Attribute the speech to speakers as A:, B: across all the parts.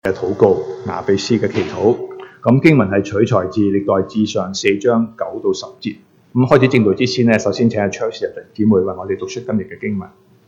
A: 嘅禱告，雅比斯嘅祈禱。咁經文係取材自歷代志上4章9到10節。咁開始正道之前呢，首先請阿 Charles 入嚟姊妹為我哋讀出今日嘅經文。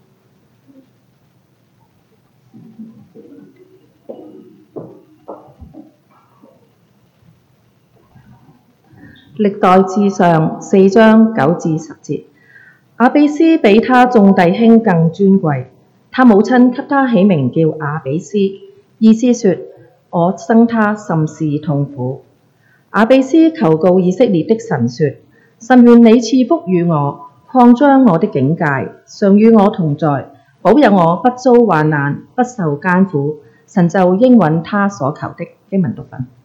B: 歷代志上4章9至10節，雅比斯比他眾弟兄更尊貴，他母親給他起名叫雅比斯，意思說我生他甚是痛苦。雅比斯求告以色列的神說：神願你賜福與我，擴張我的境界，常與我同在，保佑我不遭患難，不受艱苦。神就應允他所求的。經文讀本。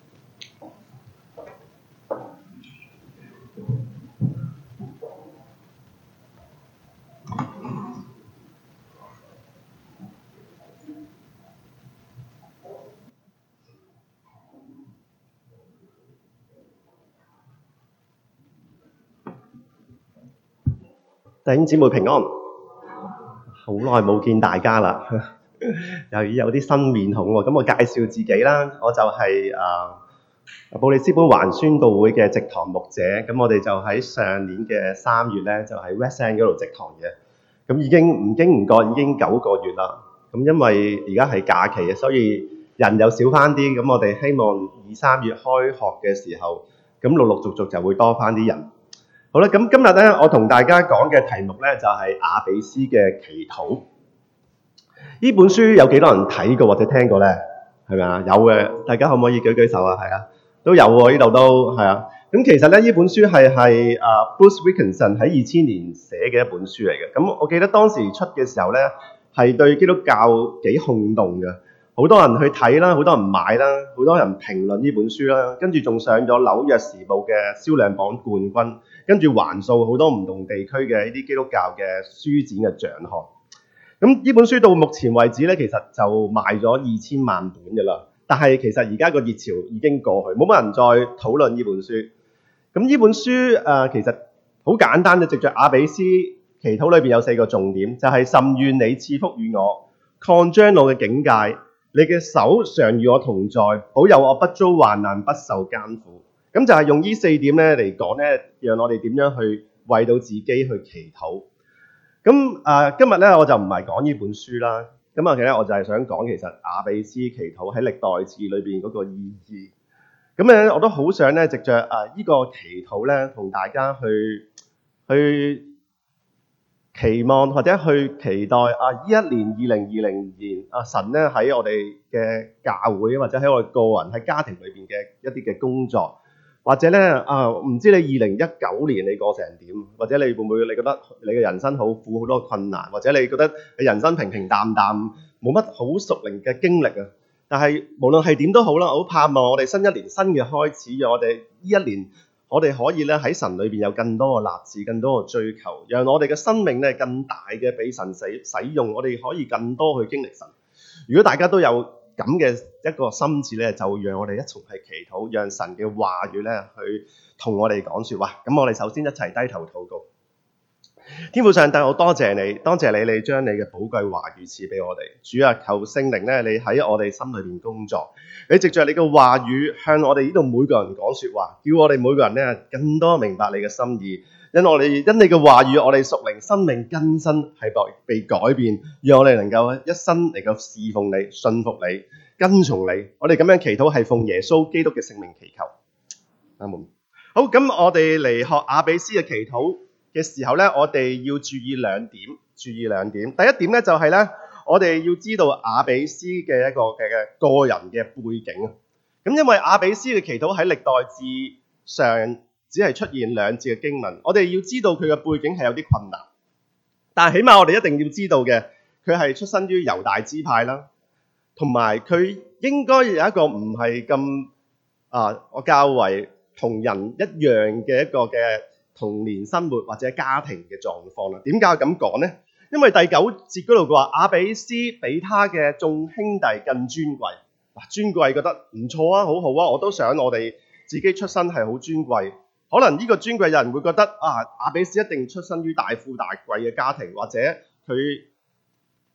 C: 弟兄姊妹平安，好耐冇見大家啦，又有啲新面孔喎。咁我介紹自己啦，我就係布里斯本環宣道會嘅植堂牧者。咁我哋就喺上年嘅3月咧，就喺 West End 嗰度植堂嘅。咁已經唔經唔覺已經9個月啦。咁因為而家係假期，所以人又少翻啲。咁我哋希望2、3月開學嘅時候，咁陸陸續續就會多翻啲人。好啦，咁今日咧，我同大家講嘅題目咧就係雅比斯嘅祈禱。呢本書有幾多人睇過或者聽過咧？係咪啊？有嘅，大家可唔可以舉舉手啊？係啊，都有喎，呢度都係啊。咁其實咧，呢本書係Bruce Wilkinson 喺2000年寫嘅一本書嚟嘅。咁我記得當時出嘅時候咧，係對基督教幾轟動嘅，好多人去睇啦，好多人買啦，好多人評論呢本書啦，跟住仲上咗紐約時報嘅銷量榜冠軍。跟住橫掃好多唔同地區嘅呢啲基督教嘅書展嘅獎項。咁呢本書到目前為止咧，其實就賣咗2000萬本嘅啦。但係其實而家個熱潮已經過去，冇乜人再討論呢本書。咁呢本書其實好簡單嘅，藉着雅比斯祈禱裏邊有4個重點，就係甚願你賜福與我，擴張我嘅境界，你嘅手常與我同在，保佑我不遭患難，不受艱苦。咁就係用呢4點咧嚟講咧，讓我哋點樣去為到自己去祈禱。咁今日咧我就唔係講呢本書啦。咁其實我就係想講其實雅比斯祈禱喺歷代志裏邊嗰個意義。咁咧我都好想咧藉着呢個祈禱咧，同大家去期望或者去期待呢一年2020年神咧喺我哋嘅教會或者喺我哋個人喺家庭裏邊嘅一啲嘅工作。或者咧唔知你2019年你過成點？或者你會唔會你覺得你嘅人生好苦，好多困難？或者你覺得你人生平平淡淡，冇乜好屬靈嘅經歷啊？但係無論係點都好啦，我好盼望我哋新一年新嘅開始，讓我哋呢一年我哋可以咧喺神裏邊有更多嘅立志，更多嘅追求，讓我哋嘅生命咧更大嘅俾神使用，我哋可以更多去經歷神。如果大家都有咁嘅一個心志咧，就讓我哋一齊去祈禱，讓神嘅話語咧去同我哋講說話。咁我哋首先一齊低頭禱告。天父上帝，我多謝你，多謝你將你嘅寶貴話語賜俾我哋。主啊，求聖靈咧，你喺我哋心裏邊工作，你藉着你嘅話語向我哋呢度每個人講說話，叫我哋每個人咧更多明白你嘅心意。因你嘅話語，我哋屬靈生命更新係被改變，讓我哋能夠一生嚟夠侍奉你、信服你、跟從你。我哋咁樣祈禱係奉耶穌基督嘅聖名祈求。阿門。好，咁我哋嚟學雅比斯嘅祈禱嘅時候咧，我哋要注意兩點。第一點咧就係咧，我哋要知道雅比斯嘅一個嘅個人嘅背景啊。咁因為雅比斯嘅祈禱喺歷代志上只係出現2節嘅經文，我哋要知道佢嘅背景係有啲困難，但係起碼我哋一定要知道嘅，佢係出身於猶大支派啦，同埋佢應該有一個唔係咁我較為同人一樣嘅一個嘅童年生活或者家庭嘅狀況啦。點解咁講呢？因為第9節嗰度話雅比斯比他嘅眾兄弟更尊貴。尊貴覺得唔錯啊，好好啊，我都想我哋自己出身係好尊貴。可能呢個尊貴有人會覺得雅比斯一定出身於大富大貴嘅家庭，或者佢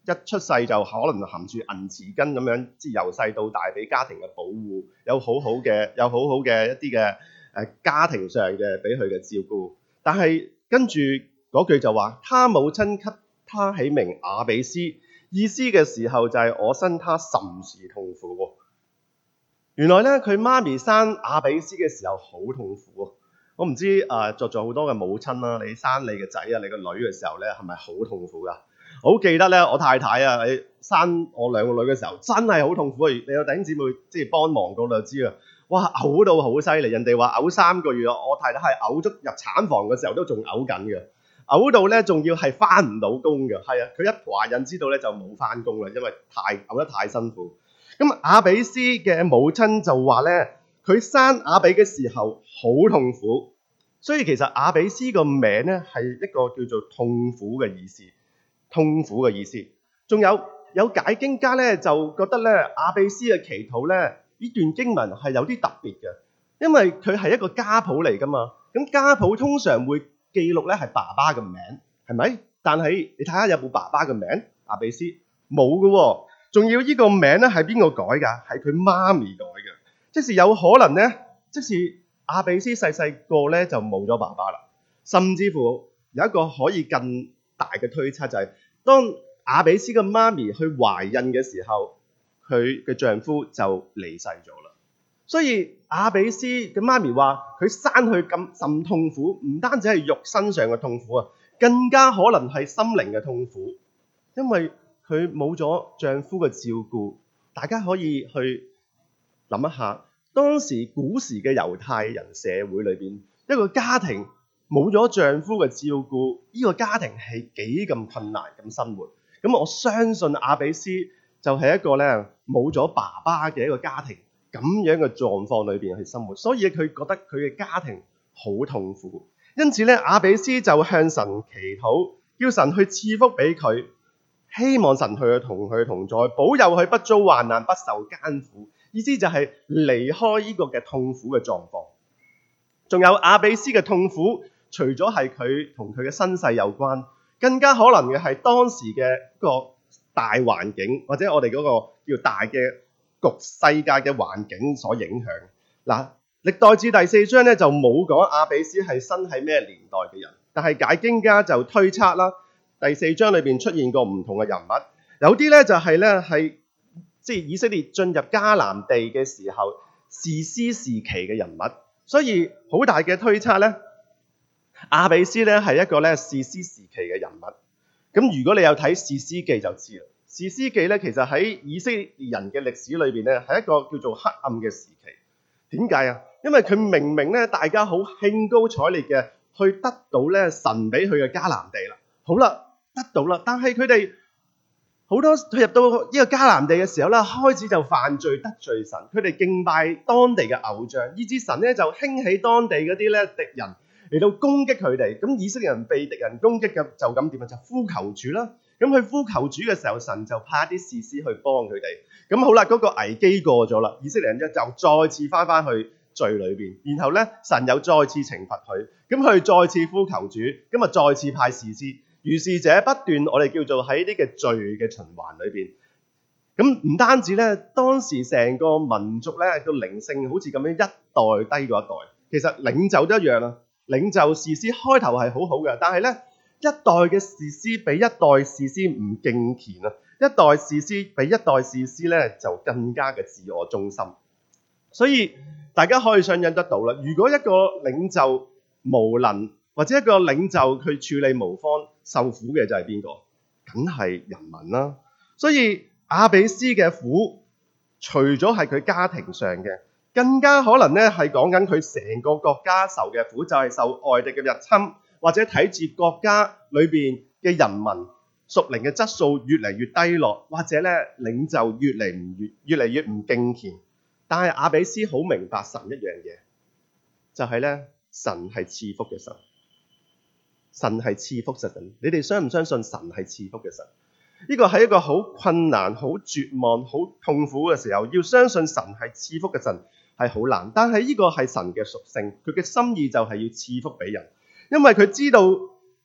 C: 一出世就可能含住銀匙羹咁樣，即係由細到大俾家庭嘅保護，有好好嘅一啲嘅家庭上嘅俾佢嘅照顧。但係跟住嗰句就話，他母親給他起名雅比斯，意思嘅時候就係我生他甚是痛苦喎。原來咧佢媽咪生雅比斯嘅時候好痛苦喎。我唔知在座好多嘅母親啦，你生你嘅仔啊，你個女嘅時候咧係咪好痛苦㗎？我好記得咧，我太太啊，你生我兩個女嘅時候真係好痛苦啊！你有弟兄姊妹即係幫忙過就知啊。哇，嘔到好犀利，人哋話嘔3個月啊，我太太係嘔足入產房嘅時候都仲嘔緊嘅，嘔到咧仲要係翻唔到工嘅。係啊，佢一懷孕知道咧就冇翻工啦，因為嘔得太辛苦。咁雅比斯嘅母親就話咧，佢生雅比嘅時候好痛苦，所以其實雅比斯個名咧係一個叫做痛苦嘅意思，痛苦嘅意思。仲有解經家咧就覺得咧雅比斯嘅祈禱咧呢段經文係有啲特別嘅，因為佢係一個家譜嚟噶嘛。咁家譜通常會記錄咧係爸爸嘅名，係咪？但係你睇下有冇爸爸嘅名？雅比斯冇嘅喎，仲要呢個名咧係邊個改㗎？係佢媽咪改嘅，即是有可能咧，即是雅比斯細個咧就冇咗爸爸啦，甚至乎有一個可以更大嘅推測就係、當雅比斯嘅媽咪去懷孕嘅時候，佢嘅丈夫就離世咗啦。所以雅比斯嘅媽咪話佢生佢咁甚痛苦，唔單止係肉身上嘅痛苦啊，更加可能係心靈嘅痛苦，因為佢冇咗丈夫嘅照顧。大家可以去諗一下，當時古時嘅猶太人社會裏邊，一個家庭冇咗丈夫嘅照顧，呢個家庭係幾咁困難咁生活。咁我相信雅比斯就係一個咧冇咗爸爸嘅一個家庭咁樣嘅狀況裏邊去生活，所以佢覺得佢嘅家庭好痛苦。因此咧，雅比斯就向神祈禱，叫神去賜福俾佢，希望神去同佢同在，保佑佢不遭患難，不受艱苦。意思就係離開呢個嘅痛苦嘅狀況。仲有雅比斯嘅痛苦，除咗係佢同佢嘅身世有關，更加可能嘅係當時嘅個大環境，或者我哋嗰個叫大嘅世界嘅環境所影響。嗱，歷代志第4章咧就冇講雅比斯係生喺咩年代嘅人，但係解經家就推測啦，第4章裏邊出現過唔同嘅人物，有啲咧就係咧係即係以色列進入迦南地嘅時候士師時期嘅人物，所以好大嘅推測咧，雅比斯咧係一個咧士師時期嘅人物。咁如果你有睇士師記就知啦，士師記咧其實喺以色列人嘅歷史裏邊咧係一個叫做黑暗嘅時期。點解啊？因為佢明明咧大家好興高采烈嘅去得到咧神俾佢嘅迦南地啦，好啦，得到啦，但係佢哋好多佢入到呢個迦南地嘅時候咧，開始就犯罪得罪神，佢哋敬拜當地嘅偶像，以致神咧就興起當地嗰啲咧敵人嚟到攻擊佢哋。咁以色列人被敵人攻擊嘅就咁點啊？就呼求主啦。咁佢呼求主嘅時候，神就派一啲士師去幫佢哋。咁好啦，嗰個危機過咗啦，以色列人就再次翻去罪裏邊，然後咧神又再次懲罰佢，咁佢再次呼求主，咁啊再次派士師，如是者不斷，我哋叫做喺呢個罪嘅循環裏邊。咁唔單止咧，當時成個民族咧個靈性好似咁樣一代低過一代，其實領袖都一樣啦。領袖士師開頭係好好嘅，但係咧一代嘅士師比一代士師唔敬虔啊，一代士師比一代士師咧就更加嘅自我中心。所以大家可以想象得到啦，如果一個領袖無能，或者一個領袖佢處理無方，受苦嘅就係邊個？梗係人民啦。所以雅比斯嘅苦，除咗係佢家庭上嘅，更加可能咧係講緊佢成個國家受嘅苦，就係受外敵嘅入侵，或者睇住國家裏邊嘅人民屬靈嘅質素越嚟越低落，或者咧領袖越嚟越唔敬虔。但係雅比斯好明白神一樣嘢，就係咧神係賜福嘅神，神係賜福嘅神。你哋相唔相信神係賜福嘅神？呢個係一個好困難、好絕望、好痛苦嘅時候，要相信神係賜福嘅神係好難。但係呢個係神嘅屬性，佢嘅心意就係要賜福俾人，因為佢知道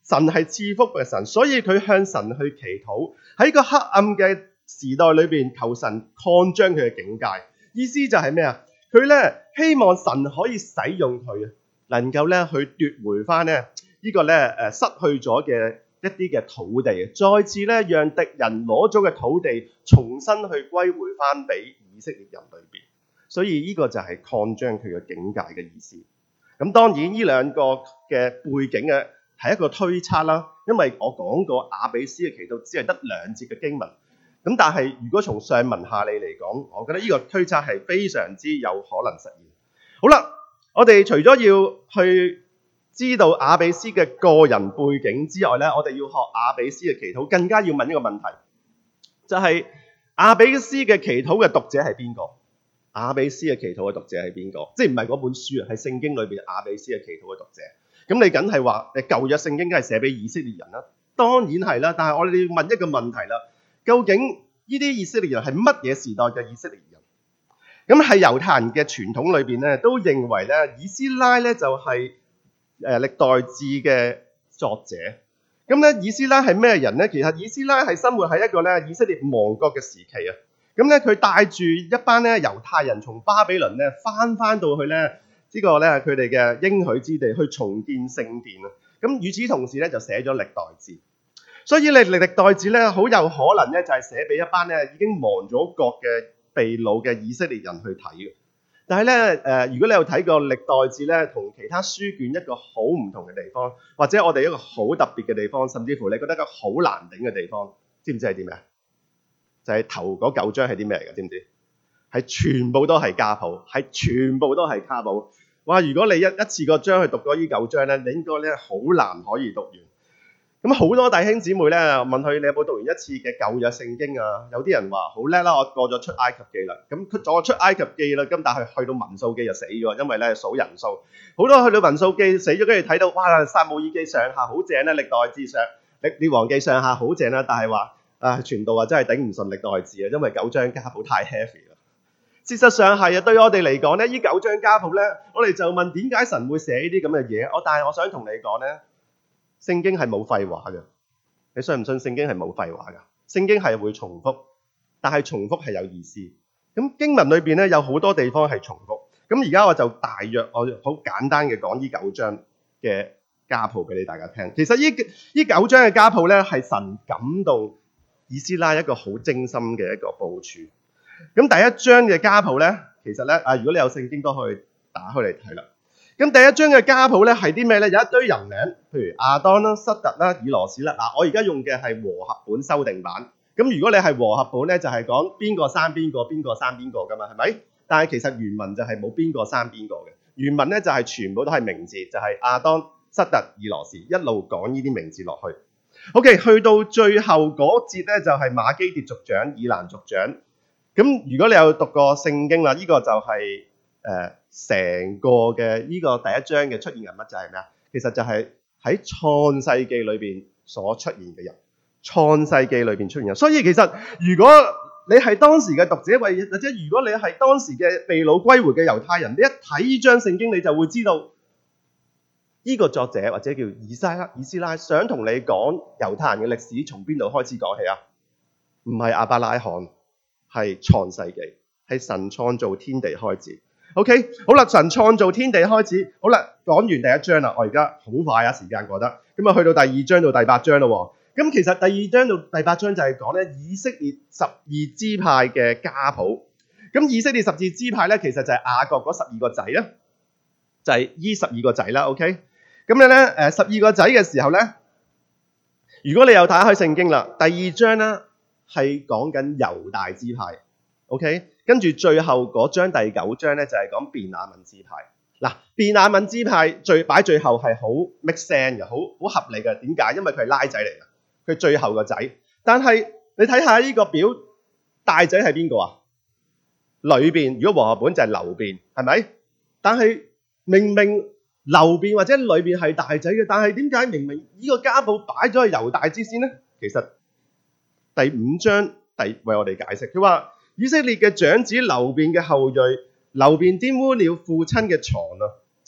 C: 神係賜福嘅神，所以佢向神去祈禱，喺個黑暗嘅時代裏邊求神擴張佢嘅境界。意思就係咩啊？佢咧希望神可以使用佢啊，能夠咧去奪回翻咧呢個咧失去咗嘅一啲嘅土地，再次咧讓敵人攞咗嘅土地重新去歸回翻俾以色列人裏邊。所以呢個就係擴張佢嘅境界嘅意思。咁當然呢兩個嘅背景嘅係一個推測啦，因為我講過雅比斯嘅祈禱只係得2節嘅經文。咁但係如果從上文下理嚟講，我覺得呢個推測係非常之有可能實現。好啦，我哋除咗要去知道雅比斯嘅個人背景之外咧，我哋要學雅比斯嘅祈禱，更加要問一個問題，就係雅比斯嘅祈禱嘅讀者係邊個？雅比斯嘅祈禱嘅讀者係邊個？即係唔係嗰本書啊，係聖經裏邊雅比斯嘅祈禱嘅讀者。咁你梗係話舊約聖經梗係寫俾以色列人啦，當然係啦。但係我哋要問一個問題啦，究竟呢啲以色列人係乜嘢時代嘅以色列人？咁喺猶太人嘅傳統裏邊咧，都認為咧以斯拉咧就係歷代志嘅作者。咁咧以斯拉係咩人咧？其實以斯拉係生活喺一個咧以色列亡國嘅時期啊。咁咧佢帶住一班咧猶太人從巴比倫咧翻到去咧呢個咧佢哋嘅應許之地去重建聖殿啊。咁與此同時咧就寫咗歷代志。所以歷代志咧好有可能咧就係寫俾一班咧已經亡咗國嘅被擄嘅以色列人去睇嘅。但係咧如果你有睇過歷代志咧，同其他書卷一個好唔同嘅地方，或者我哋一個好特別嘅地方，甚至乎你覺得一個好難頂嘅地方，知唔知係啲咩？就係頭嗰9章係啲咩嚟嘅？知唔知？係全部都係家譜，係全部都係家譜。哇！如果你一次過將佢讀過呢9章咧，你應該咧好難可以讀完。咁好多弟兄姊妹咧問佢：你有冇讀完一次嘅舊約聖經啊？有啲人話好叻啦，我過咗出埃及記啦。咁咗出埃及記啦，咁但係去到民數記就死咗，因為咧數人數。好多去到民數記死咗，跟住睇到哇，撒母耳記上下好正啦，歷代志上列王記上下好正啦，但係話傳道真係頂唔順歷代志啊，因為9章家譜太 heavy 啦。事實上係啊，對我哋嚟講咧，呢9章家譜咧，我哋就問點解神會寫呢啲咁嘅嘢？但係我想同你講咧，聖經係冇廢話嘅。你信唔信聖經係冇廢話㗎？聖經係會重複，但係重複係有意思。咁經文裏邊咧有好多地方係重複。咁而家我就大約我好簡單嘅講呢9章嘅家譜俾你大家聽。其實呢9章嘅家譜咧係神感動以斯拉一個好精心嘅一個部署。咁第一章嘅家譜咧，其實咧如果你有聖經都可以打開嚟睇啦。咁第一章嘅家譜咧係啲咩咧？有一堆人名，譬如亞當啦、塞特啦、以羅士啦。我而家用嘅係和合本修訂版。咁如果你係和合本咧，就係講邊個生邊個，邊個生邊個噶嘛，係咪？但係其實原文就係冇邊個生邊個嘅。原文咧就係全部都係名字，就係亞當、塞特、以羅士，一路講呢啲名字落去。OK， 去到最後嗰節咧就係馬基迭族長、以蘭族長。咁如果你有讀過聖經啦，呢個就係成個嘅呢個第一章嘅出現人物就係咩啊？其實就係喺創世記裏邊所出現嘅人，創世記裏邊出現人。所以其實如果你係當時嘅讀者，或者如果你係當時嘅被擄歸回嘅猶太人，你一睇呢章聖經，你就會知道呢個作者或者叫以斯拉想同你講猶太人嘅歷史從邊度開始講起啊？唔係亞伯拉罕，係創世記，係神創造天地開始。OK， 好啦，神創造天地開始，好啦，講完第一章啦，我而家好快啊，時間過得，咁啊去到第二章到第8章咯。咁其實第2章到第8章就係講咧以色列12支派嘅家譜。咁以色列12支派咧，其實就係雅各嗰12個仔啦，就係呢12個仔啦。OK， 咁樣咧12個仔嘅時候咧，如果你有睇開聖經啦，第2章咧係講緊猶大支派。OK， 跟住最後嗰章第9章咧就係講便雅憫支派。嗱，便雅憫支派擺最後係好 make sense 嘅，好合理嘅。點解？因為佢係拉仔嚟嘅，佢最後個仔。但係你睇下呢個表，大仔係邊個啊？裏邊如果和合本就係流便，係咪？但係明明流便或者裏邊係大仔嘅，但係點解明明呢個家譜擺咗去猶大支先咧？其實第5章為我哋解釋，佢話以色列嘅長子流便嘅後裔，流便玷污了父親嘅床啊，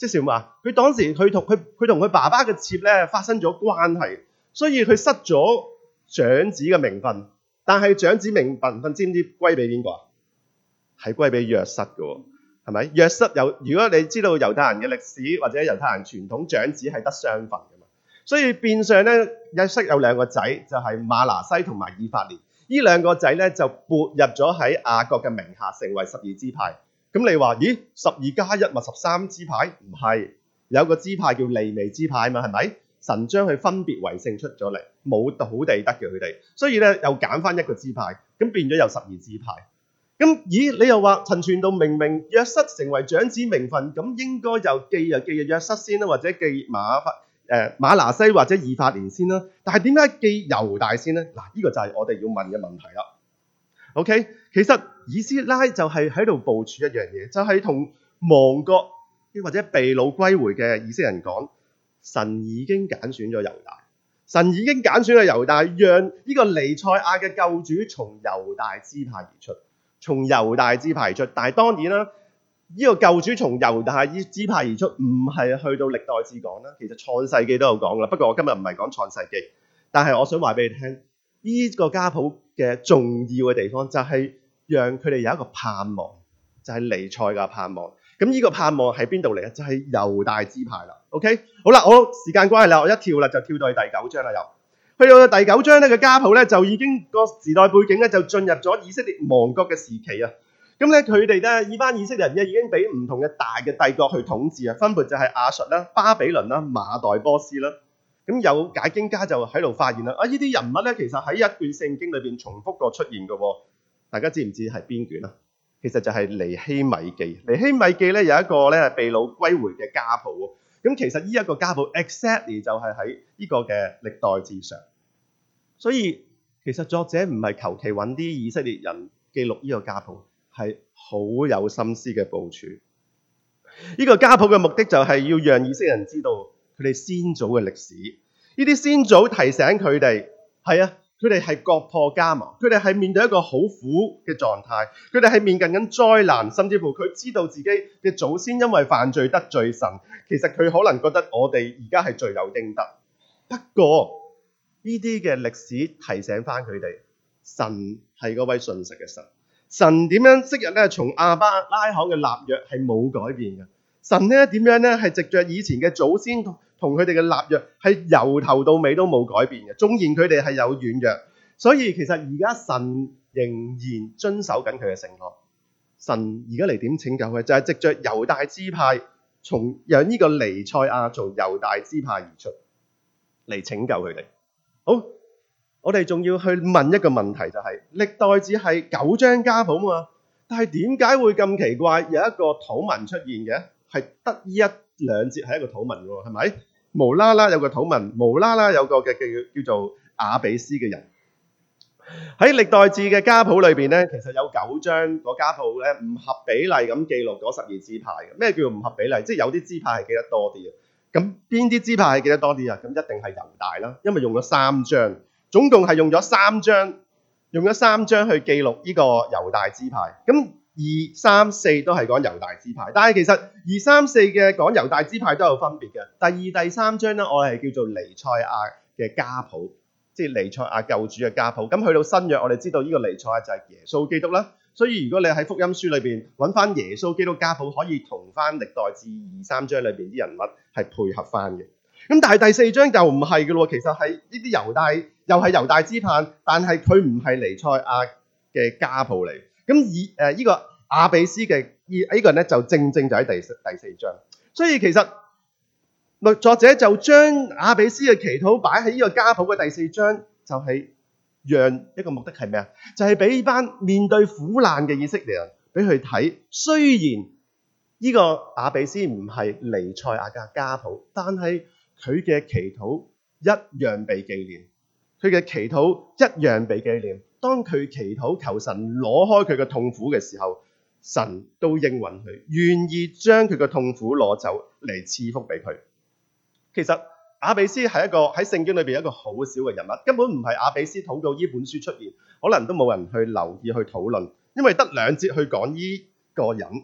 C: 即係話佢當時佢同佢爸爸嘅妾咧發生咗關係，所以佢失咗長子嘅名分。但係長子名分知唔知歸俾邊個啊？係歸俾約瑟嘅喎，係咪？約瑟如果你知道猶太人嘅歷史或者猶太人傳統，長子係得雙份嘅嘛。所以變相咧，約瑟有兩個仔，就係馬拿西同埋以法蓮。呢兩個仔咧就撥入咗喺雅各嘅名下，成為12支派。咁你話，咦？12+1咪13支派？唔係，有個支派叫利未支派嘛，係咪？神將佢分別為聖出咗嚟，冇土地得嘅佢哋，所以咧又揀翻一個支派，咁變咗有12支派。咁咦？你又話陳傳道明明約瑟成為長子名分，咁應該就記約瑟先啦，或者記馬拿西或者以法蓮先啦。但係點解記猶大先咧？嗱，呢個就係我哋要問嘅問題啦。OK， 其實以斯拉就係喺度部署一樣嘢，就係同亡國或者被擄歸回嘅以色列人講。神已經揀選咗猶大，神已經揀選咗猶大，讓呢個彌賽亞嘅救主從猶大支派而出，從猶大支派而出。但係當然啦，呢個救主從猶大支派而出，唔係去到歷代志講啦，其實創世記都有講啦。不過我今日唔係講創世記，但係我想話俾你聽，呢個家譜嘅重要嘅地方就係讓佢哋有一個盼望，就係彌賽亞盼望。咁呢個盼望喺邊度嚟啊？就係猶大支派啦。OK， 好啦，我時間關係啦，我一跳啦就跳到去第9章啦。又去到第9章咧，個家譜咧就已經個時代背景咧就進入咗以色列亡國嘅時期啊。咁咧佢哋咧呢班以色列人咧已經俾唔同嘅大嘅帝國去統治啊，分別就係亞述啦、巴比倫啦、馬代波斯啦。咁有解經家就喺度發現啦，呢啲人物咧其實喺一段聖經裏邊重複過出現嘅喎。大家知唔知係邊卷啊？其實就係尼希米記。尼希米記咧有一個咧被擄歸回嘅家譜喎。咁其實呢一個家譜 exactly 就係喺呢個嘅歷代志上。所以其實作者唔係求其揾啲以色列人記錄呢個家譜，係好有心思嘅部署。呢個家譜嘅目的就係要讓以色列人知道佢哋先祖嘅歷史。呢啲先祖提醒佢哋，係啊，佢哋係國破家亡，佢哋係面對一個好苦嘅狀態，佢哋係面近緊災難，甚至乎佢知道自己嘅祖先因為犯罪得罪神，其實佢可能覺得我哋而家係罪有應得。不過呢啲嘅歷史提醒翻佢哋，神係嗰位信實嘅神。神點樣昔日咧從亞伯拉罕嘅立約係冇改變嘅。神咧點樣咧係藉着以前嘅祖先同佢哋嘅立約係由頭到尾都冇改變嘅。縱然佢哋係有軟弱，所以其實而家神仍然遵守緊佢嘅承諾。神而家嚟點拯救嘅就係藉着猶大支派，讓呢個彌賽亞從猶大支派而出嚟拯救佢哋。好，我哋仲要去問一個問題，就係歷代志係9章家譜嘛，但係點解會咁奇怪有一個土文出現嘅？係得呢一兩節係一個土文喎，係咪？無啦啦有個土文，無啦啦有個嘅叫做雅比斯嘅人。喺歷代志嘅家譜裏邊咧，其實有9章個家譜咧唔合比例咁記錄嗰12支派嘅。咩叫唔合比例？即係有啲支派係記得多啲嘅。咁邊啲支派係記得多啲啊？咁一定係猶大啦，因為用咗3章，總共係用咗3章去記錄呢個猶大支派。咁2、3、4都係講猶大支派，但係其實2、3、4嘅講猶大支派都有分別嘅。第2、第3章咧，我哋係叫做彌賽亞嘅家譜，即係彌賽亞救主嘅家譜。咁去到新約，我哋知道呢個彌賽亞就係耶穌基督啦。所以如果你喺福音書裏邊揾翻耶穌基督家譜，可以同翻歷代志2、3章裏邊啲人物係配合翻嘅。咁但係第4章就唔係嘅咯，其實係呢啲猶大又係猶大支派，但係佢唔係彌賽亞嘅家譜嚟。咁呢個雅比斯嘅呢個咧就正就喺第4章。所以其實作者就將雅比斯嘅祈禱擺喺呢個家譜嘅第4章，就係讓一個目的係咩啊？就係俾班面對苦難嘅以色列人俾佢睇，雖然呢個雅比斯唔係彌賽亞嘅家譜，但係佢嘅祈禱一樣被紀念。佢嘅祈禱一樣被紀念。當佢祈禱求神攞開佢嘅痛苦嘅時候，神都應允佢，願意將佢嘅痛苦攞走嚟賜福俾佢。其實雅比斯係一個喺聖經裏邊一個好小嘅人物，根本唔係雅比斯禱告呢本書出現，可能都冇人去留意去討論，因為得2節去講呢個人。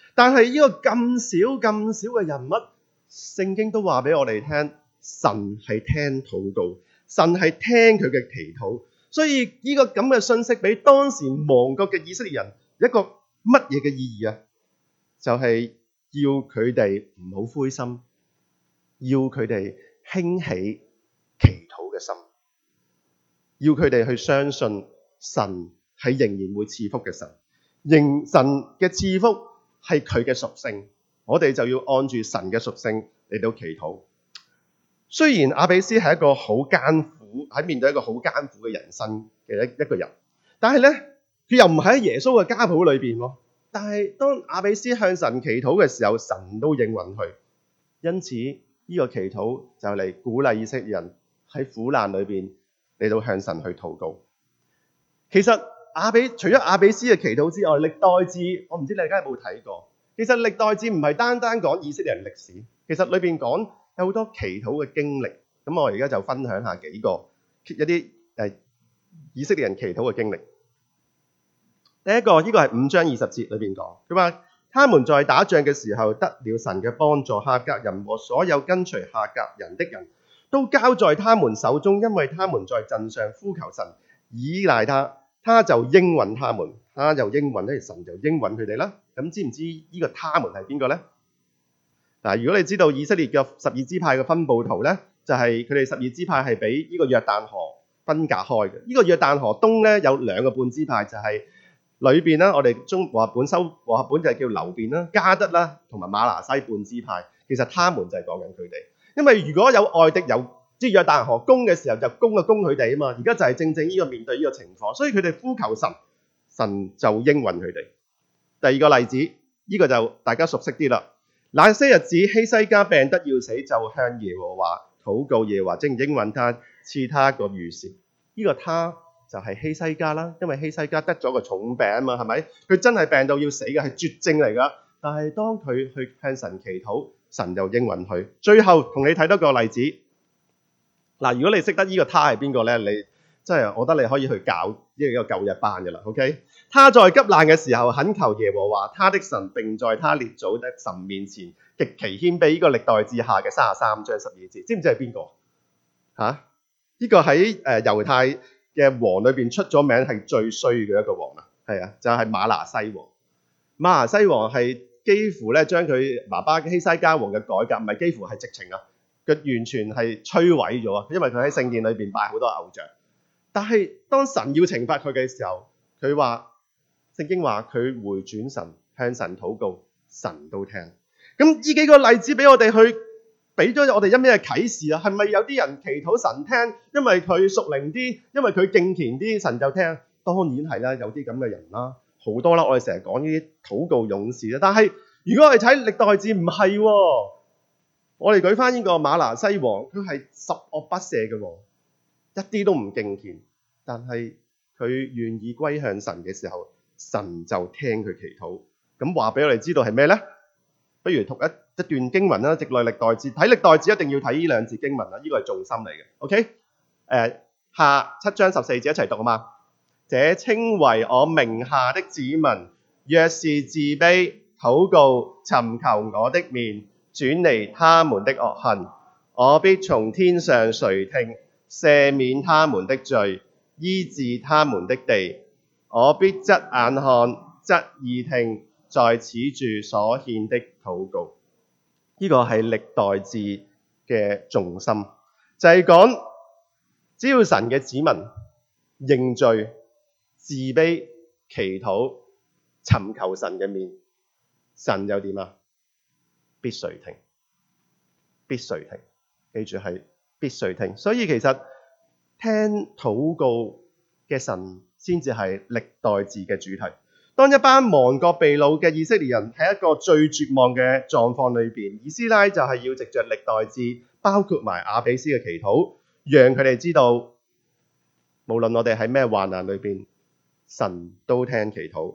C: 但係呢個咁少嘅人物，聖經都話俾我哋聽，神係聽禱告，神係聽佢嘅祈禱。所以呢個咁嘅信息俾當時亡國嘅以色列人一個乜嘢嘅意義啊？就係要佢哋唔好灰心，要佢哋興起祈禱嘅心，要佢哋去相信神係仍然會賜福嘅神，神嘅賜福係佢嘅屬性，我哋就要按住神嘅屬性嚟到祈禱。雖然亞比斯係一個好艱苦，喺面對一個好艱苦嘅人生嘅一個人，但係咧佢又唔喺耶穌嘅家譜裏邊喎。但係當亞比斯向神祈禱嘅時候，神都應允佢。因此呢個祈禱就嚟鼓勵以色列人喺苦難裏邊嚟到向神去禱告。其實除咗亞比斯嘅祈禱之外，歷代志我唔知你大家有冇睇過。其實歷代志唔係單單講以色列人歷史，其實裏邊講有好多祈禱嘅經歷。咁我而家就分享下幾個一啲以色列人祈禱嘅經歷。第一個，呢個係5章20節裏邊講，佢話他們在打仗嘅時候得了神嘅幫助，夏甲人和所有跟隨夏甲人的人都交在他們手中，因為他們在陣上呼求神，倚賴他，他就應允他們，他就應允咧，神就應允佢哋啦。咁知唔知呢個他們係邊個呢？嗱，如果你知道以色列嘅12支派嘅分佈圖呢，就係佢哋12支派係俾呢個約旦河分隔開嘅。呢個約旦河東呢，有2個半支派，就係裏邊啦，我哋和合本就係叫流便啦、迦得啦，同埋瑪拿西半支派。其實他們就係講緊佢哋，因為如果有外敵即係約旦河攻嘅時候，就攻佢哋啊嘛。而家就係正正呢個面對呢個情況，所以佢哋呼求神，神就應允佢哋。第二個例子，呢個就大家熟悉啲啦。那些日子希西家病得要死，就向耶和華禱告，耶和華應允他，賜他個預兆。呢個他就係希西家啦，因為希西家得咗個重病啊嘛，係咪？佢真係病到要死嘅，係絕症嚟噶。但係當佢去向神祈禱，神就應允佢。最後同你睇多個例子。嗱，如果你識得呢個他係邊個咧，你真係我覺得你可以去教呢個舊日班嘅啦。OK， 他在急難嘅時候懇求耶和華他的神，並在他列祖的神面前極其謙卑。呢個歷代志下嘅33章12節，知唔知係邊個？呢個喺猶太嘅王裏邊出咗名係最衰嘅一個王啊，係啊，就係瑪拿西王。瑪拿西王係幾乎咧將佢爸爸希西家王嘅改革，唔係幾乎係直情啊，佢完全係摧毀咗啊，因為佢喺聖殿裏邊拜好多偶像。但係當神要懲罰佢嘅時候，佢話聖經話佢回轉神，向神禱告，神都聽。咁呢幾個例子俾我哋去俾咗我哋一咩啟示啊？係咪有啲人祈禱神聽，因為佢屬靈啲，因為佢敬虔啲，神就聽？當然係啦，有啲咁嘅人啦，好多啦。我哋成日講呢啲禱告勇士啦。但係如果我哋睇歷代志唔係喎，我哋舉翻呢個瑪拿西王，佢係十惡不赦嘅喎，一啲都唔敬虔，但係佢願意歸向神嘅時候，神就聽佢祈禱。咁話俾我哋知道係咩呢？不如讀一段經文啦，直來歷代志。睇歷代志一定要睇呢2節經文啦，呢個係重心嚟嘅。OK， 下7章14節一齊讀啊嘛。這稱為我名下的子民，若是自卑，禱告，尋求我的面，轉離他們的惡行，我必從天上垂聽，赦免他們的罪，醫治他們的地。我必側眼看，側耳聽，在此處所獻的禱告。呢個係歷代志嘅重心，就係講只要神嘅子民認罪、自卑、祈禱、尋求神嘅面，神又點啊？必垂聽，必垂聽。記住係必垂聽。所以其實聽禱告嘅神先至係歷代志嘅主題。當一班亡國被擄嘅以色列人喺一個最絕望嘅狀況裏邊，以斯拉就係要藉着歷代志，包括埋亞比斯嘅祈禱，讓佢哋知道，無論我哋喺咩患難裏邊，神都聽祈禱。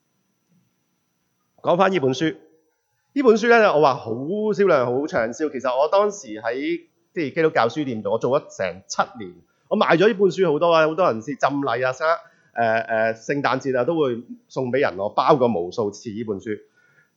C: 講翻呢本書，呢本書咧，我話好銷量好暢銷。其實我當時喺基督教書店度，我做咗成7年，我賣咗呢本書好多啊，好多人是浸禮啊、聖誕節啊都會送俾人，我包過無數次呢本書。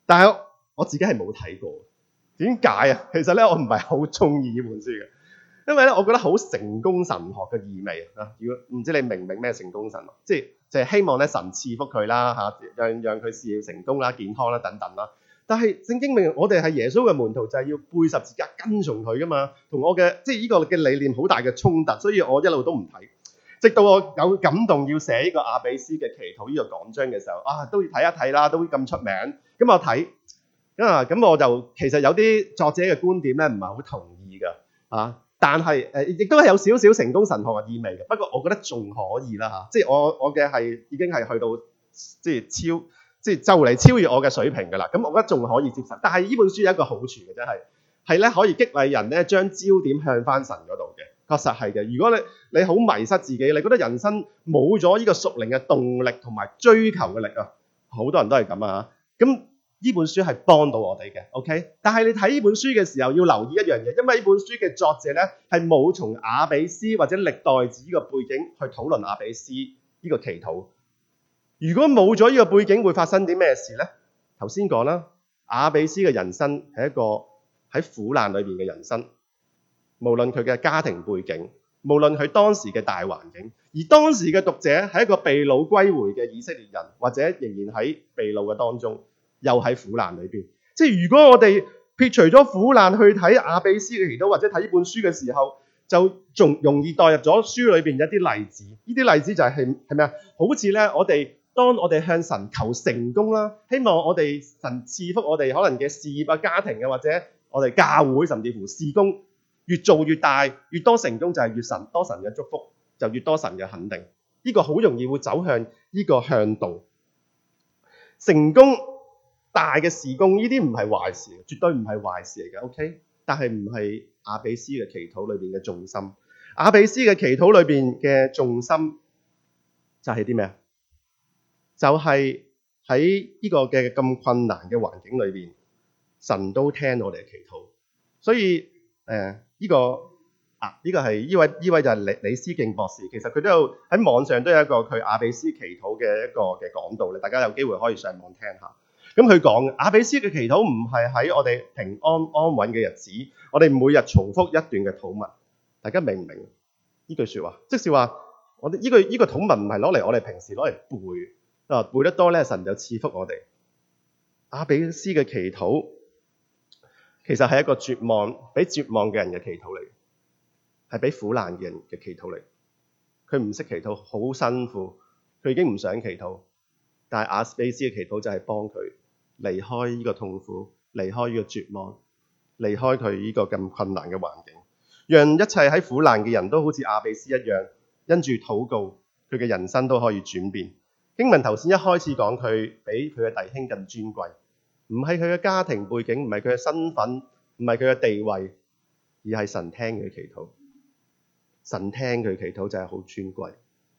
C: 但係我自己係冇睇過。點解啊？其實咧，我唔係好中意呢本書嘅，因為咧，我覺得好成功神學嘅意味啊！如果唔知你明唔明咩成功神學？即係就係希望咧神賜福佢啦嚇，讓佢事業成功啦、健康啦等等啦。但係聖經明我哋係耶穌嘅門徒，就係要背十字架跟從佢噶嘛，同我嘅即係呢個嘅理念好大嘅衝突，所以我一路都唔睇。直到我有感動要寫呢個雅比斯嘅祈禱呢個講章嘅時候，都要睇一睇啦，都咁出名，咁我睇。咁我就其實有啲作者嘅觀點咧，唔係好同意㗎但係亦都係有少少成功神學嘅意味嘅。不過我覺得仲可以啦嚇，即係我嘅係已經係去到即係就嚟超越我嘅水平㗎啦。咁我覺得仲可以接受。但係呢本書有一個好處嘅，真係咧可以激勵人咧將焦點向翻神嗰度嘅。確實係嘅。如果你好迷失自己，你覺得人生冇咗呢個屬靈嘅動力同埋追求嘅力啊，好多人都係咁啊。咁呢本書係幫到我哋嘅 ，OK？ 但係你睇呢本書嘅時候要留意一樣嘢，因為呢本書嘅作者咧係冇從雅比斯或者歷代志呢個背景去討論雅比斯呢個祈禱。如果冇咗呢個背景，會發生啲咩事咧？頭先講啦，雅比斯嘅人生係一個喺苦難裏邊嘅人生，無論佢嘅家庭背景，無論佢當時嘅大環境，而當時嘅讀者係一個被擄歸回嘅以色列人，或者仍然喺被擄嘅當中。又喺苦難裏邊，即係如果我哋撇除咗苦難去睇雅比斯嘅祈禱或者睇呢本書嘅時候，就仲容易代入咗書裏邊一啲例子。呢啲例子就係咩啊？好似咧，當我哋向神求成功啦，希望我哋神賜福我哋可能嘅事業啊、家庭啊，或者我哋教會甚至乎事工越做越大，越多成功就係越多神嘅祝福，就越多神嘅肯定。呢個好容易會走向呢個向度，成功。大嘅事工呢啲唔係壞事，絕對唔係壞事嚟嘅 ，OK？ 但係唔係雅比斯嘅祈禱裏邊嘅重心。雅比斯嘅祈禱裏邊嘅重心就係啲咩啊？就係喺呢個嘅咁困難嘅環境裏邊，神都聽我哋嘅祈禱。所以呢個係呢位就係李思敬博士，其實佢都有喺網上都有一個佢雅比斯祈禱嘅一個嘅講道咧，大家有機會可以上網聽下。咁佢講雅比斯嘅祈禱唔係喺我哋平安安穩嘅日子，我哋每日重複一段嘅禱文。大家明唔明呢句説話？即是話我哋呢個禱文唔係攞嚟我哋平時攞嚟背，背得多咧，神就賜福我哋。雅比斯嘅祈禱其實係一個俾絕望嘅人嘅祈禱嚟，係俾苦難嘅人嘅祈禱嚟。佢唔識祈禱，好辛苦，佢已經唔想祈禱，但係雅比斯嘅祈禱就係幫佢離開呢個痛苦，離開呢個絕望，離開佢呢個咁困難嘅環境，讓一切喺苦難嘅人都好似雅比斯一樣，因住禱告，佢嘅人生都可以轉變。經文頭先一開始講佢比佢嘅弟兄更尊貴，唔係佢嘅家庭背景，唔係佢嘅身份，唔係佢嘅地位，而係神聽佢祈禱。神聽佢祈禱就係好尊貴。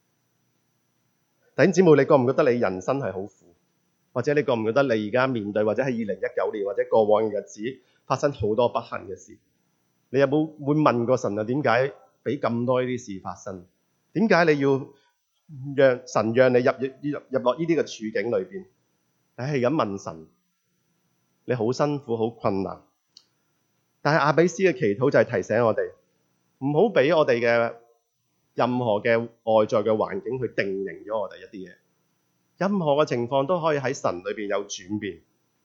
C: 弟兄姊妹，你覺唔覺得你人生係好苦？或者你覺唔覺得你而家面對或者喺2019年或者過往嘅日子發生好多不幸嘅事？你有冇會問過神啊？點解俾咁多呢啲事發生？點解你要讓神讓你入落呢啲嘅處境裏邊？你係咁問神，你好辛苦好困難。但係雅比斯嘅祈禱就係提醒我哋，唔好俾我哋嘅任何嘅外在嘅環境去定型咗我哋一啲嘢。任何嘅情況都可以喺神裏邊有轉變。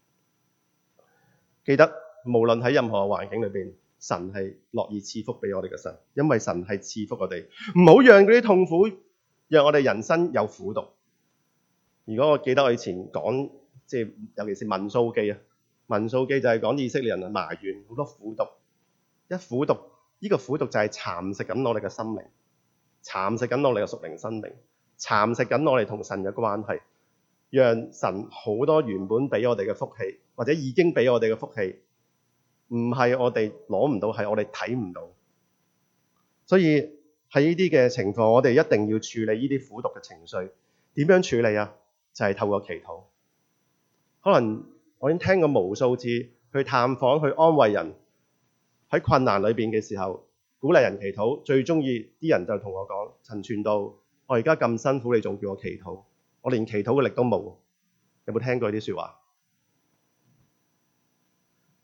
C: 記得無論喺任何嘅環境裏邊，神係樂意賜福俾我哋嘅神，因為神係賜福我哋。唔好讓嗰啲痛苦讓我哋人生有苦毒。如果我記得我以前講，即係尤其是民數記啊，民數記就係講以色列人埋怨好多苦毒，呢個苦毒就係蠶食緊我哋嘅心靈，蠶食緊我哋嘅屬靈生命，蠶食緊我哋同神嘅關係，讓神好多原本俾我哋嘅福氣，或者已經俾我哋嘅福氣，唔係我哋攞唔到，係我哋睇唔到。所以喺呢啲嘅情況，我哋一定要處理呢啲苦毒嘅情緒。點樣處理啊？就係透過祈禱。可能我已經聽過無數次去探訪、去安慰人喺困難裏邊嘅時候，鼓勵人祈禱。最中意啲人就同我講：陳傳道，我而家咁辛苦，你仲叫我祈禱？我連祈禱嘅力都冇。有冇聽過呢啲説話？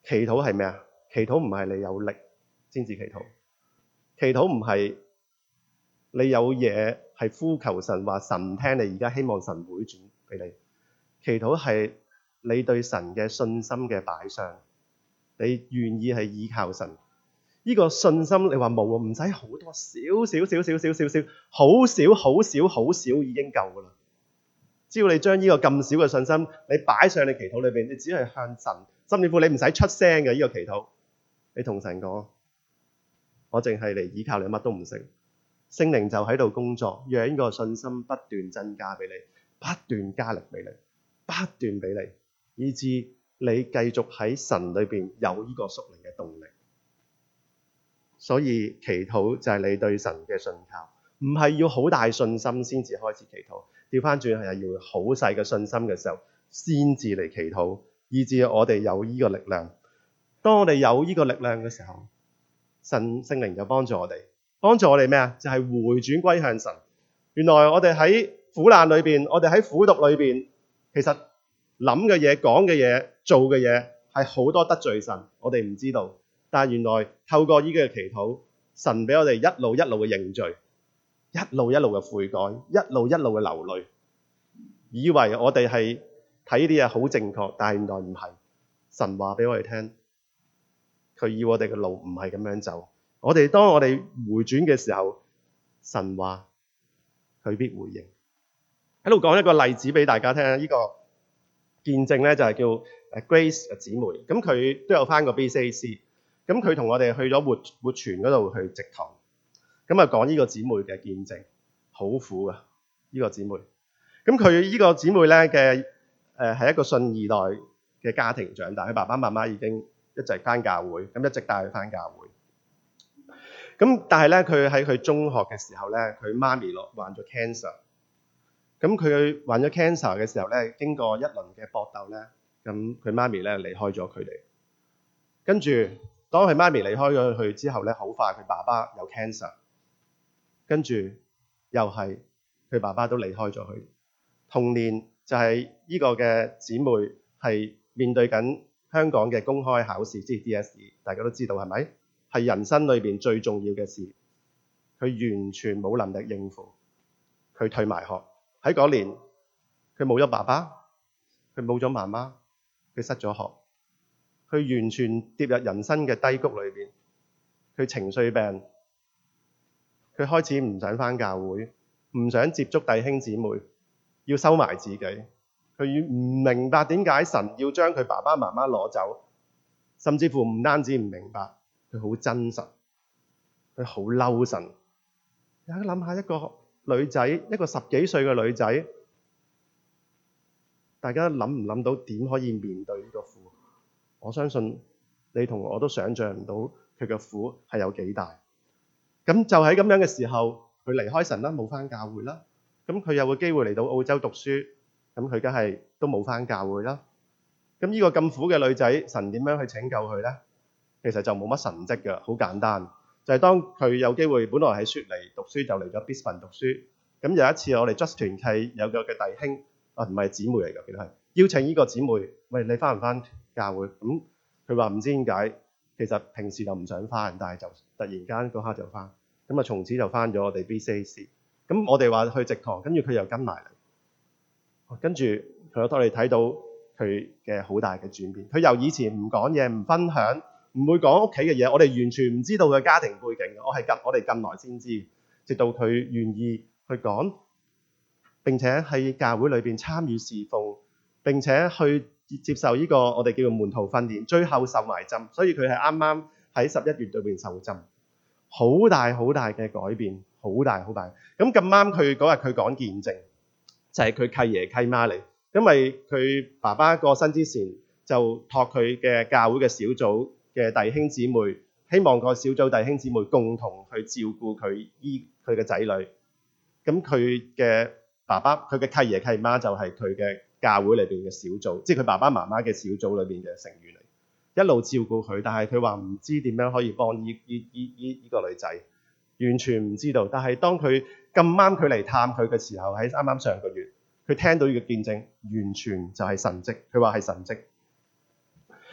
C: 祈禱係咩啊？祈禱唔係你有力先至祈禱，祈禱唔係你有嘢係呼求神，話神唔聽你，而家希望神回轉俾你。祈禱係你對神嘅信心嘅擺上，你願意係依靠神。呢個信心你話冇喎，唔使好多，少，好少已經夠噶啦。只要你將呢個咁少嘅信心，你擺上你祈禱裏邊，你只係向神，甚至乎你唔使出聲嘅呢個祈禱，你同神講：我淨係嚟依靠你，乜都唔識。聖靈就喺度工作，讓呢個信心不斷增加俾你，不斷加力俾你，不斷俾你，以致你繼續喺神裏邊有呢個屬靈嘅動力。所以祈禱就係你對神嘅信靠，唔係要好大信心先至開始祈禱。調翻轉係要好細嘅信心嘅時候先至嚟祈禱，以致我哋有呢個力量。當我哋有呢個力量嘅時候，聖靈就幫助我哋咩啊？就係回轉歸向神。原來我哋喺苦難裏邊，我哋喺苦毒裏邊，其實諗嘅嘢、講嘅嘢、做嘅嘢係好多得罪神，我哋唔知道。但係原來透過呢個祈禱，神俾我哋一路嘅認罪，一路嘅悔改，一路嘅流淚，以為我哋係睇啲嘢好正確，但係原來唔係。神話俾我哋聽，佢要我哋嘅路唔係咁樣走。當我哋回轉嘅時候，神話佢必回應。喺度講一個例子俾大家聽，呢個見證咧就係叫 Grace 嘅姊妹，咁佢都有返個 BCAC。咁佢同我哋去咗活泉嗰度去植堂，咁啊講呢個姊妹嘅見證，好苦啊！呢個姊妹，咁佢呢個姊妹咧嘅係一個信二代嘅家庭長大，佢爸爸媽媽已經一直返教會，咁一直帶佢返教會。咁但係咧，佢喺佢中學嘅時候咧，佢媽咪患咗 cancer。咁佢患咗 cancer 嘅時候咧，經過一輪嘅搏鬥咧，咁佢媽咪咧離開咗佢哋，跟住。當佢媽咪離開咗佢之後咧，好快佢爸爸有 cancer， 跟住又係佢爸爸都離開咗佢。同年就係呢個嘅姊妹係面對緊香港嘅公開考試，即係 DSE， 大家都知道係咪？係人生裏邊最重要嘅事，佢完全冇能力應付，佢退埋學。喺嗰年，佢冇咗爸爸，佢冇咗媽媽，佢失咗學。佢完全跌入人生嘅低谷裏邊，佢情緒病，佢開始唔想返教會，唔想接觸弟兄姊妹，要收埋自己。佢唔明白點解神要將佢爸爸媽媽攞走，甚至乎唔單止唔明白，佢好真實，佢好嬲神。大家諗下一個女仔，一個10幾歲嘅女仔，大家諗唔諗到點可以面對呢個苦？我相信你同我都想像唔到佢嘅苦係有幾大。咁就喺咁樣嘅時候，佢離開神啦，冇返教會啦。咁佢有個機會嚟到澳洲讀書，咁佢梗係都冇返教會啦。咁呢個咁苦嘅女仔，神點樣去拯救佢呢？其實就冇乜神蹟㗎，好簡單。就係當佢有機會，本來喺雪梨讀書，就嚟咗 Brisbane 讀書。咁有一次我哋 Just 團契有個嘅弟兄，唔係姊妹嚟㗎，記得係邀請呢個姊妹，喂，你返唔返教會？咁佢話唔知點解，其實平時就唔想返，但係就突然間嗰刻就返。咁啊，從此就返咗我哋 BCAC。咁我哋話去植堂，跟住佢又跟埋嚟。跟住佢當你睇到佢嘅好大嘅轉變。佢由以前唔講嘢、唔分享、唔會講屋企嘅嘢，我哋完全唔知道佢家庭背景嘅。我哋近來先知，直到佢願意去講，並且喺教會裏邊參與侍奉，並且去接受呢個我哋叫做門徒訓練，最後受埋浸。所以佢係啱啱喺11月裏邊受浸，好大嘅改變，好大。咁咁啱佢嗰日佢講見證，就係佢契爺契媽嚟，因為佢爸爸過身之前就託佢嘅教會嘅小組嘅弟兄姊妹，希望個小組弟兄姊妹共同去照顧佢嘅仔女。咁佢嘅爸爸，佢嘅契爺契媽就係佢嘅教會裏邊嘅小組，即係佢爸爸媽媽嘅小組裏邊嘅成員嚟，一路照顧佢。但係佢話唔知點樣可以幫呢個女仔，完全唔知道。但係當佢咁啱佢嚟探佢嘅時候，喺啱啱上個月，佢聽到呢個見證，完全就係神蹟。佢話係神蹟。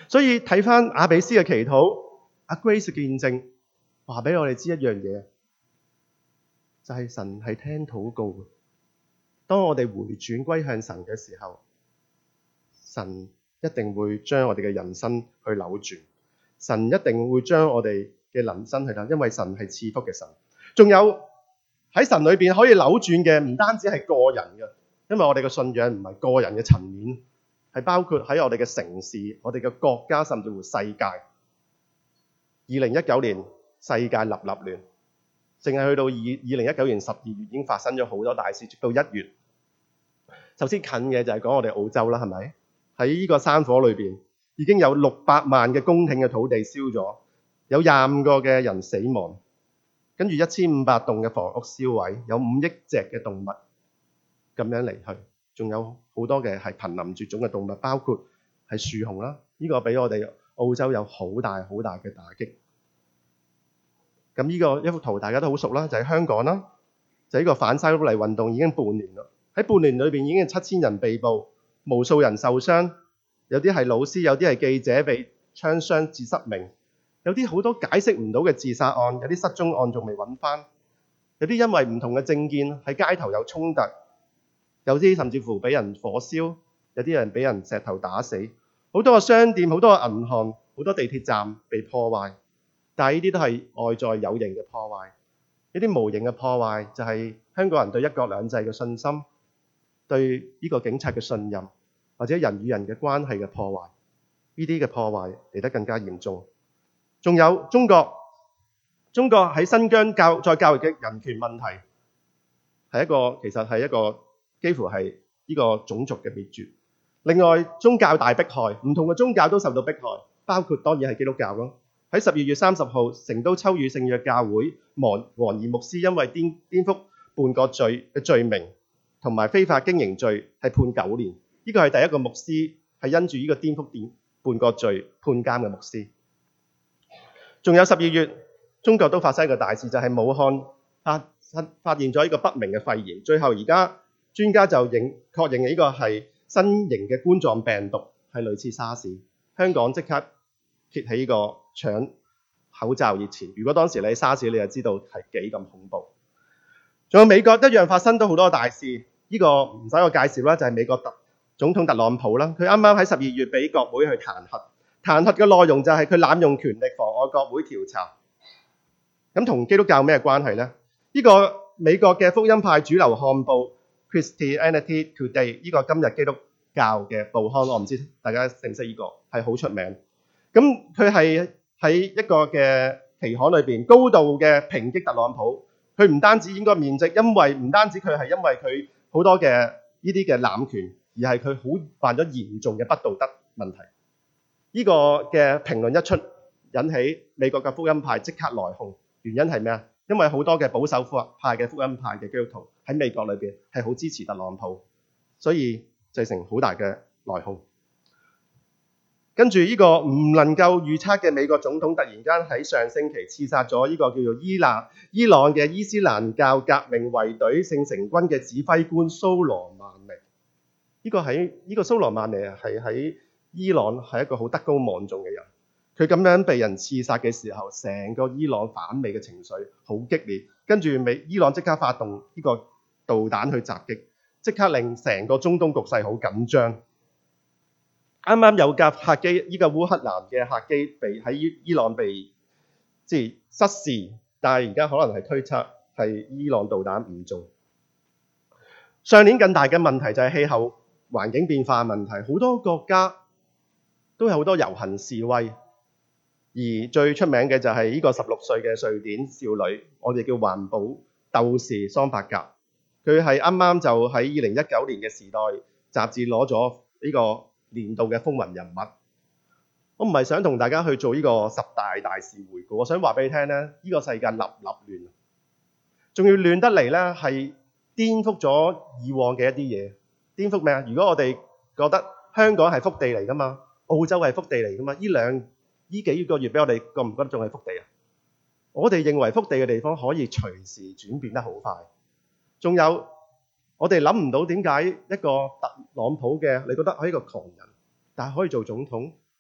C: 所以睇翻雅比斯嘅祈禱，阿 Grace 嘅見證話俾我哋知一樣嘢，就係神係聽禱告嘅。當我哋回轉歸向神嘅時候，神一定會將我哋嘅人生去扭轉，神一定會將我哋嘅人生去扭轉，因為神係賜福嘅神。仲有喺神裏邊可以扭轉嘅唔單止係個人嘅，因為我哋嘅信仰唔係個人嘅層面，係包括喺我哋嘅城市、我哋嘅國家，甚至乎世界。2019年世界立立亂，淨係去到2019年12月已經發生咗好多大事，直到1月。首先近嘅就係講我哋澳洲啦，係咪？喺呢個山火裏邊已經有600萬嘅公頃嘅土地燒咗，有25個嘅人死亡，跟住1500棟嘅房屋燒毀，有5億隻嘅動物咁樣離去，仲有好多嘅係瀕臨絕種嘅動物，包括係樹熊啦。呢個俾我哋澳洲有好大好大嘅打擊。咁呢個一幅圖大家都好熟啦，就係香港啦，就呢個反修例運動已經半年啦。喺半年裏邊已經係7000人被捕，無數人受傷，有啲係老師，有啲係記者被槍傷至失明，有啲好多解釋唔到嘅自殺案，有啲失蹤案仲未揾翻，有啲因為唔同嘅政見喺街頭有衝突，有啲甚至乎俾人火燒，有啲人俾人石頭打死，好多個商店、好多個銀行、好多地鐵站被破壞。但係呢啲都係外在有形嘅破壞，呢啲無形嘅破壞就係香港人對一國兩制嘅信心，對呢個警察嘅信任，或者人與人嘅關係嘅破壞。呢啲嘅破壞嚟得更加嚴重。仲有中國喺新疆再教育嘅人權問題，其實係一個幾乎係呢個種族嘅滅絕。另外宗教大迫害，唔同嘅宗教都受到迫害，包括當然係基督教咯。喺12月30號，成都秋雨聖約教會黃怡牧師因為顛覆叛國罪嘅罪名同埋非法經營罪係判9年。呢個係第一個牧師係因住呢個顛覆叛國罪判監嘅牧師。仲有12月，中國都發生一個大事，就係武漢發現咗呢個不明嘅肺炎。最後而家專家就確認呢個係新型嘅冠狀病毒，係類似沙士。香港即刻揭起呢個搶口罩熱潮。如果當時你喺沙士，你就知道係幾咁恐怖。仲有美國一樣發生咗好多大事，呢個唔使我介紹啦，就係美國總統特朗普啦。佢啱啱喺12月俾國會去彈劾嘅內容就係佢濫用權力妨礙國會調查。咁同基督教咩關係呢？呢個美國嘅福音派主流刊報 Christianity Today， 呢個今日基督教嘅報刊，我唔知大家認唔認識呢個，係好出名。咁佢係喺一個嘅期刊裏邊高度嘅抨擊特朗普。佢唔單止應該免職，唔單止佢係因為佢好多嘅呢啲嘅濫權，而係佢好犯咗嚴重嘅不道德問題。呢個嘅評論一出，引起美國嘅福音派即刻內訌。原因係咩啊？因為好多嘅保守派嘅福音派嘅基督徒喺美國裏邊係好支持特朗普，所以製成好大嘅內訌。跟住呢個唔能夠預測嘅美國總統突然間喺上星期刺殺咗呢個叫做伊朗嘅伊斯蘭教革命衛隊聖城軍嘅指揮官蘇羅曼尼。呢個蘇羅曼尼係喺伊朗係一個好德高望重嘅人。佢咁樣被人刺殺嘅時候，成個伊朗反美嘅情緒好激烈。跟住伊朗即刻發動呢個導彈去襲擊，即刻令成個中東局勢好緊張。啱啱有架客機，呢個烏克蘭嘅客機喺伊朗被失事，但係而家可能係推測係伊朗導彈誤中。上年更大嘅問題就係氣候環境變化問題，好多國家都有好多遊行示威，而最出名嘅就係呢個16歲嘅瑞典少女，我哋叫環保鬥士桑伯格。佢係啱啱就喺2019年嘅時代雜誌攞咗呢個年度嘅風雲人物。我唔係想同大家去做呢個10大事回顧，我想話俾你聽咧，呢個世界立亂，仲要亂得嚟咧，係顛覆咗以往嘅一啲嘢。顛覆咩啊？如果我哋覺得香港係福地嚟噶嘛，澳洲係福地嚟噶嘛，呢幾個月俾我哋覺唔覺得仲係福地啊？我哋認為福地嘅地方可以隨時轉變得好快。仲有我哋諗唔到點解一個特朗普嘅，你覺得係一個狂人，但係可以做總統？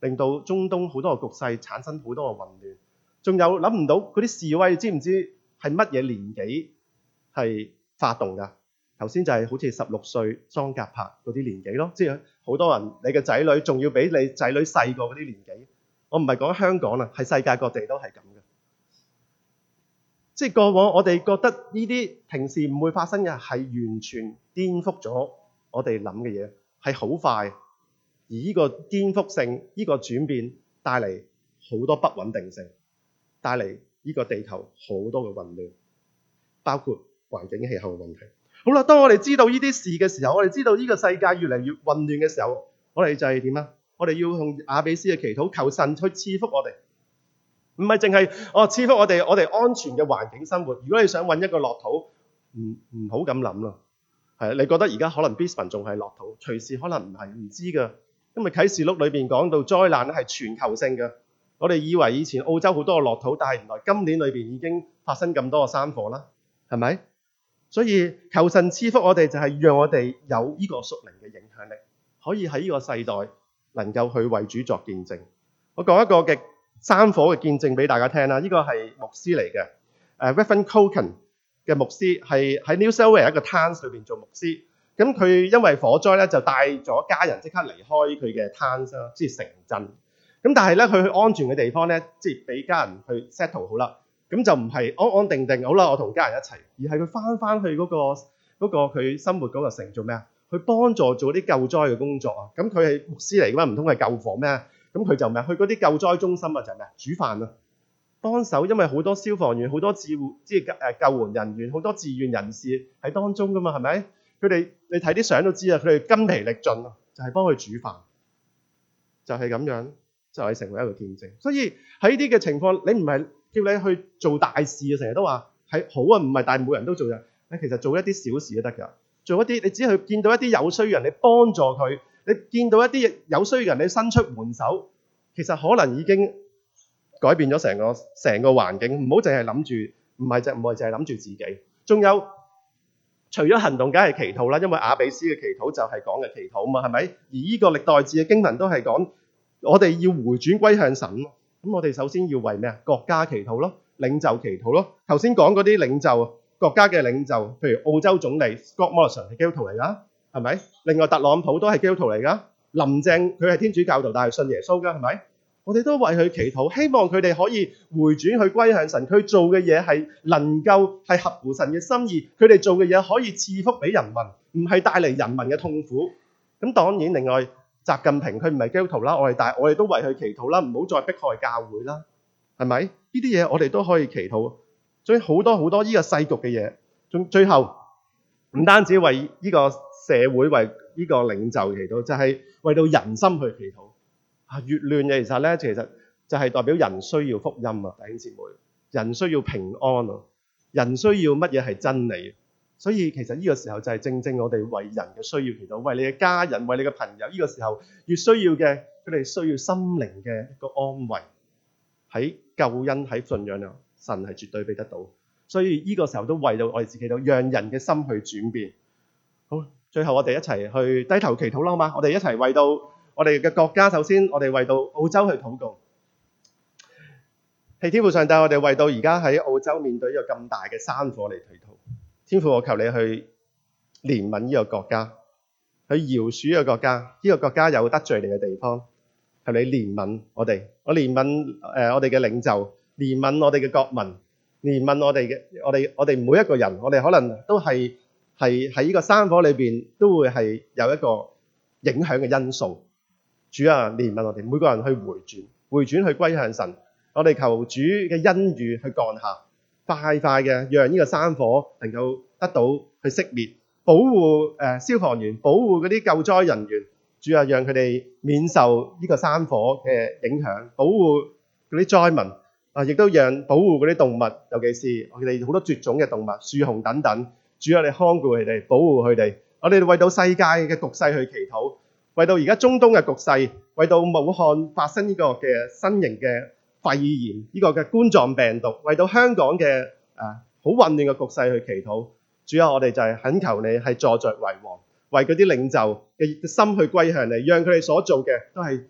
C: 令到中東好多個局勢產生好多個混亂。仲有諗唔到嗰啲示威，知唔知係乜嘢年紀係發動㗎？頭先就係好似16歲裝甲拍嗰啲年紀咯，即係好多人你嘅仔女仲要比你仔女細過嗰啲年紀。我唔係講香港啦，係世界各地都係咁嘅。即係過往我哋覺得呢啲平時唔會發生嘅，係完全顛覆咗我哋諗嘅嘢，係好快。而呢個顛覆性、呢個轉變帶嚟好多不穩定性，帶嚟呢個地球好多嘅混亂，包括環境氣候嘅問題。好啦，當我哋知道呢啲事嘅時候，我哋知道呢個世界越嚟越混亂嘅時候，我哋就係點啊？我哋要用雅比斯嘅祈禱，求神去賜福我哋。唔係淨係賜福我哋安全嘅環境生活。如果你想揾一個樂土，唔好咁諗啦。係你覺得而家可能 Brisbane 仲係樂土，隨時可能唔係，唔知㗎。因為啟示錄裏邊講到災難係全球性嘅。我哋以為以前澳洲好多個樂土，但係原來今年裏邊已經發生咁多個山火啦，係咪？所以求神賜福我哋，就係讓我哋有呢個屬靈嘅影響力，可以喺呢個世代能夠去為主作見證。我講一個嘅山火嘅見證俾大家聽啦。呢個係牧師嚟嘅，Reverend Coken 嘅牧師，係喺 New South Wales 一個 town 裏邊做牧師。咁佢因為火災咧，就帶咗家人即刻離開佢嘅 town 啦，即係城鎮。咁但係咧，佢去安全嘅地方咧，即係俾家人去 settle 好啦。咁就唔係安安定定好啦，我同家人一齊，而係佢翻去嗰個佢生活嗰個城做咩啊？去幫助做啲救災嘅工作啊！咁佢係牧師嚟㗎嘛，唔通係救火咩？咁佢就咩？去嗰啲救災中心啊，就係咩？煮飯啊，幫手，因為好多消防員、好多即係救援人員、好多志願人士喺當中㗎嘛，係咪？佢哋你睇啲相都知啊，佢哋筋疲力盡啊，就係幫佢煮飯，就係咁樣，就係成為一個見證。所以喺呢啲嘅情況，你唔係叫你去做大事啊，成日都話係好啊，唔係，但係每人都做嘅。你其實做一啲小事都得㗎，做一啲你只係見到一啲有需要人，你幫助佢；你見到一啲有需要人，你伸出援手，其實可能已經改變咗成個環境。唔好淨係諗住，唔係淨係諗住自己。仲有除咗行動，梗係祈禱啦，因為雅比斯嘅祈禱就係講嘅祈禱嘛，係咪？而呢個歷代志嘅經文都係講我哋要回轉歸向神。咁我哋首先要為咩啊？國家祈禱咯，領袖祈禱咯。頭先講嗰啲領袖，國家嘅領袖，譬如澳洲總理 Scott Morrison 係基督徒嚟㗎，係咪？另外特朗普都係基督徒嚟㗎，林鄭佢係天主教徒，但係信耶穌㗎，係咪？我哋都為佢祈禱，希望佢哋可以回轉去歸向神。佢做嘅嘢係能夠係合乎神嘅心意，佢哋做嘅嘢可以賜福俾人民，唔係帶嚟人民嘅痛苦。咁當然另外習近平佢唔係基督徒啦，我哋都為佢祈禱啦，唔好再迫害教會啦，係咪？呢啲嘢我哋都可以祈禱。所以好多呢個世局嘅嘢，最後唔單止為呢個社會為呢個領袖祈禱，就係為到人心去祈禱。越亂嘅其實咧，其實就係代表人需要福音啊，弟兄姊妹，人需要平安啊，人需要乜嘢係真理。所以其實呢個時候就係正正我哋為人嘅需要祈禱，為你嘅家人，為你嘅朋友。呢個時候越需要嘅，佢哋需要心靈嘅一個安慰。喺救恩喺信仰啊，神係絕對俾得到。所以呢個時候都為到我哋自己度，讓人嘅心去轉變。好，最後我哋一齊去低頭祈禱啦，好嘛？我哋一齊為到我哋嘅國家，首先我哋為到澳洲去禱告。係天父上帝，我哋為到而家喺澳洲面對呢個咁大嘅山火嚟祈禱。天父，我求你去憐憫呢個國家，去饒恕呢個國家。呢個國家有得罪你嘅地方，求你憐憫我哋。我憐憫我哋嘅領袖，憐憫我哋嘅國民，憐憫我哋每一個人。我哋可能都係喺呢個山火裏邊都會係有一個影響嘅因素。主啊，憐憫我哋每個人去回轉去歸向神。我哋求主嘅恩雨去降下，快嘅讓呢個山火能夠得到去熄滅，保護消防員，保護嗰啲救災人員。主啊，讓佢哋免受呢個山火嘅影響，保護嗰啲災民啊，亦都讓保護嗰啲動物，尤其是我哋好多絕種嘅動物，樹熊等等。主啊，你看顧佢哋，保護佢哋。我哋為到世界嘅局勢去祈禱，為到而家中東嘅局勢，為到武漢發生呢個嘅新型嘅肺炎，呢個嘅冠狀病毒，為到香港嘅好混亂嘅局勢去祈禱。主啊，我哋就係懇求你係坐著為王，為嗰啲領袖嘅心去歸向你，讓佢哋所做嘅都係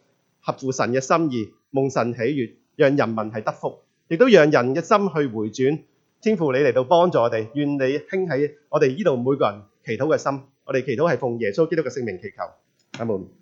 C: 合乎神嘅心意，蒙神喜悅，讓人民係得福，亦都讓人嘅心去回轉。天父，你嚟到幫助我哋，願你興起我哋呢度每個人祈禱嘅心。我哋祈禱係奉耶穌基督嘅聖名祈求，阿門。